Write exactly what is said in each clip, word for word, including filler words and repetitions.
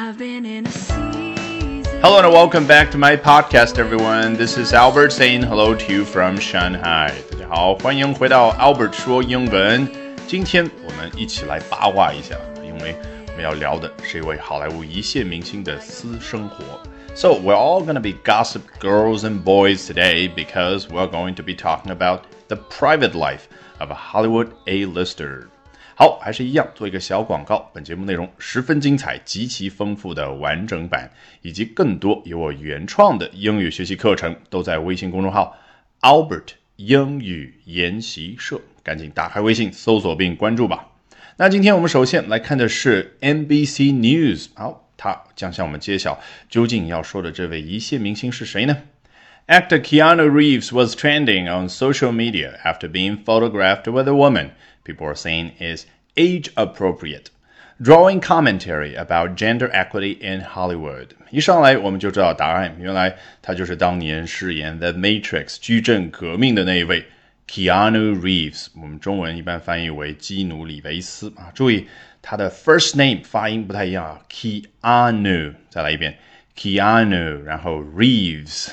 Hello and welcome back to my podcast, everyone. This is Albert saying hello to you from Shanghai. 大家好，欢迎回到 Albert 说英文。今天我们一起来八卦一下，因为我们要聊的是一位好莱坞一线明星的私生活。So we're all going to be gossip girls and boys today because we're going to be talking about the private life of a Hollywood A-lister. 好，还是一样做一个小广告，本节目内容十分精彩，极其丰富的完整版，以及更多由我原创的英语学习课程，都在微信公众号 Albert 英语研习社，赶紧打开微信搜索并关注吧。那今天我们首先来看的是 N B C News， 好，他将向我们揭晓究竟要说的这位一线明星是谁呢？ Actor Keanu Reeves was trending on social media after being photographed with a woman people are saying is age appropriate, drawing commentary about gender equity in Hollywood. 一上来我们就知道答案，原来他就是当年饰演 The Matrix 矩阵革命的那一位 Keanu Reeves， 我们中文一般翻译为基努里维斯啊。注意他的 first name 发音不太一样啊 Keanu， 再来一遍 Keanu， 然后 Reeves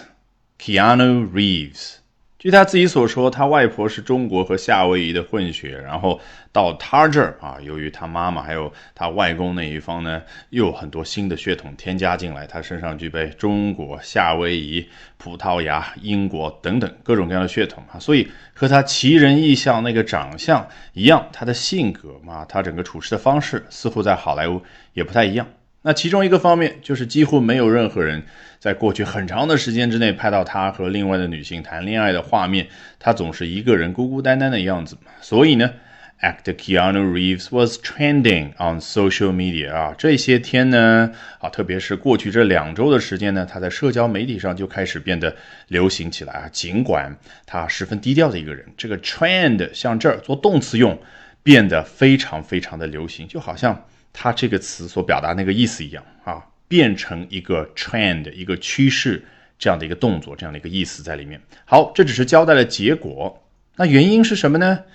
Keanu Reeves。据他自己所说，他外婆是中国和夏威夷的混血，然后到他这儿啊，由于他妈妈还有他外公那一方呢，又有很多新的血统添加进来，他身上具备中国、夏威夷、葡萄牙、英国等等各种各样的血统啊，所以和他奇人异象那个长相一样，他的性格嘛，他整个处事的方式似乎在好莱坞也不太一样。那其中一个方面就是几乎没有任何人在过去很长的时间之内拍到他和另外的女性谈恋爱的画面，他总是一个人孤孤单单的样子。所以呢 Actor Keanu Reeves was trending on social media 啊，这些天呢啊，特别是过去这两周的时间呢，他在社交媒体上就开始变得流行起来啊。尽管他十分低调的一个人，这个 trend 像这儿做动词用，变得非常非常的流行，就好像它这个词所表达那个意思一样啊，变成一个 trend 一个趋势这样的一个动作，这样的一个意思在里面。好，这只是交代了结果，那原因是什么呢？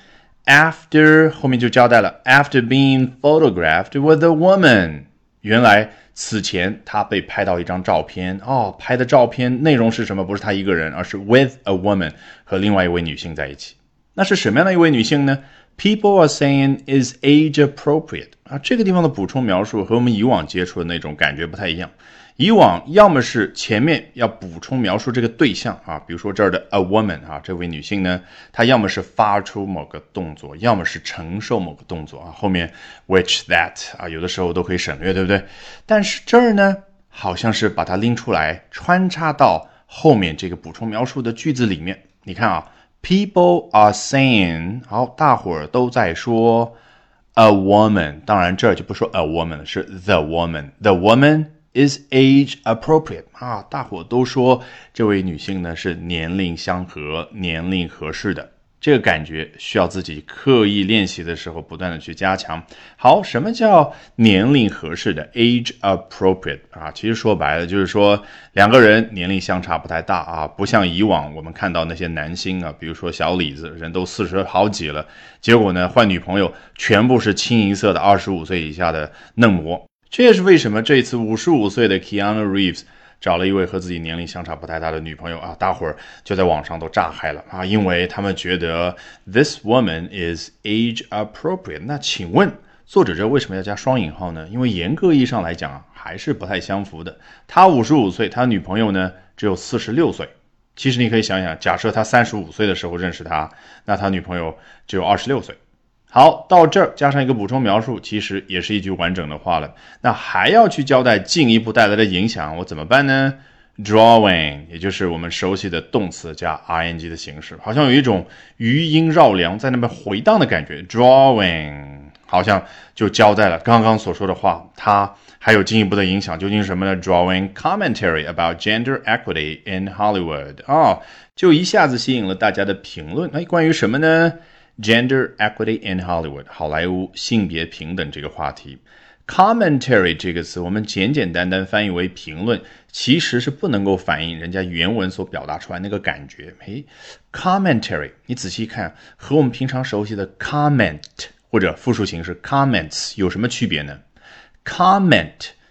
After 后面就交代了 After being photographed with a woman， 原来此前他被拍到一张照片哦，拍的照片内容是什么？不是他一个人，而是 with a woman 和另外一位女性在一起。那是什么样的一位女性呢？People are saying is age appropriate 啊，这个地方的补充描述和我们以往接触的那种感觉不太一样。以往要么是前面要补充描述这个对象啊，比如说这儿的 a woman 啊，这位女性呢，她要么是发出某个动作，要么是承受某个动作啊，后面 which that 啊，有的时候都可以省略，对不对？但是这儿呢，好像是把它拎出来穿插到后面这个补充描述的句子里面。你看啊，People are saying， 好，大伙儿都在说 a woman， 当然这儿就不说 a woman 了，是 the woman the woman is age appropriate 啊，大伙都说这位女性呢是年龄相合年龄合适的，这个感觉需要自己刻意练习的时候不断的去加强。好，什么叫年龄合适的 age appropriate 啊？其实说白了就是说两个人年龄相差不太大啊，不像以往我们看到那些男星啊，比如说小李子，人都四十好几了，结果呢换女朋友全部是清一色的二十五岁以下的嫩模。这也是为什么这次五十五岁的 Keanu Reeves找了一位和自己年龄相差不太大的女朋友啊，大伙儿就在网上都炸嗨了啊，因为他们觉得 this woman is age appropriate。 那请问作者这为什么要加双引号呢？因为严格意义上来讲啊，还是不太相符的。他五十五岁，他女朋友呢只有四十六岁。其实你可以想想，假设他三十五岁的时候认识他，那他女朋友只有二十六岁。好，到这儿加上一个补充描述，其实也是一句完整的话了。那还要去交代进一步带来的影响，我怎么办呢？ Drawing 也就是我们熟悉的动词加 ing 的形式，好像有一种余音绕梁在那边回荡的感觉。 Drawing 好像就交代了刚刚所说的话，它还有进一步的影响，究竟是什么呢？ Drawing commentary about gender equity in Hollywood 哦，就一下子吸引了大家的评论。哎，关于什么呢？Gender equity in Hollywood 好莱坞性别平等这个话题。 Commentary 这个词我们简简单单翻译为评论，其实是不能够反映人家原文所表达出来那个感觉。诶 Commentary 你仔细看和我们平常熟悉的 comment 或者复数形式 comments 有什么区别呢？ Comment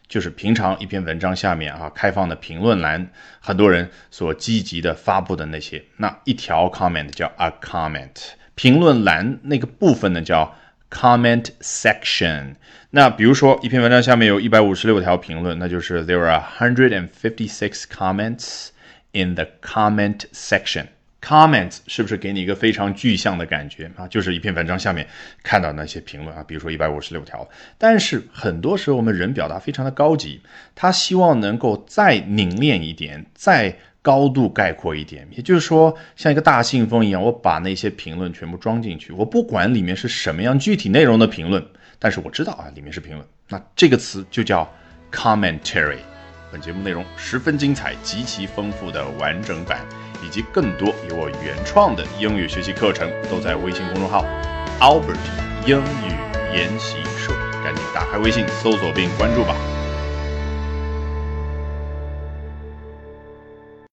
就是平常一篇文章下面啊开放的评论栏，很多人所积极的发布的那些，那一条 comment 叫 a comment， 评论栏那个部分呢叫 comment section。 那比如说一篇文章下面有一百五十六条评论，那就是 there are one hundred fifty-six comments in the comment section。Comments 是不是给你一个非常具象的感觉啊？就是一篇文章下面看到那些评论啊，比如说一百五十六条。但是很多时候我们人表达非常的高级，他希望能够再凝练一点，再高度概括一点。也就是说，像一个大信封一样，我把那些评论全部装进去，我不管里面是什么样具体内容的评论，但是我知道啊，里面是评论。那这个词就叫 commentary。本节目内容十分精彩，极其丰富的完整版，以及更多由我原创的英语学习课程，都在微信公众号 Albert 英语研习社。赶紧打开微信搜索并关注吧。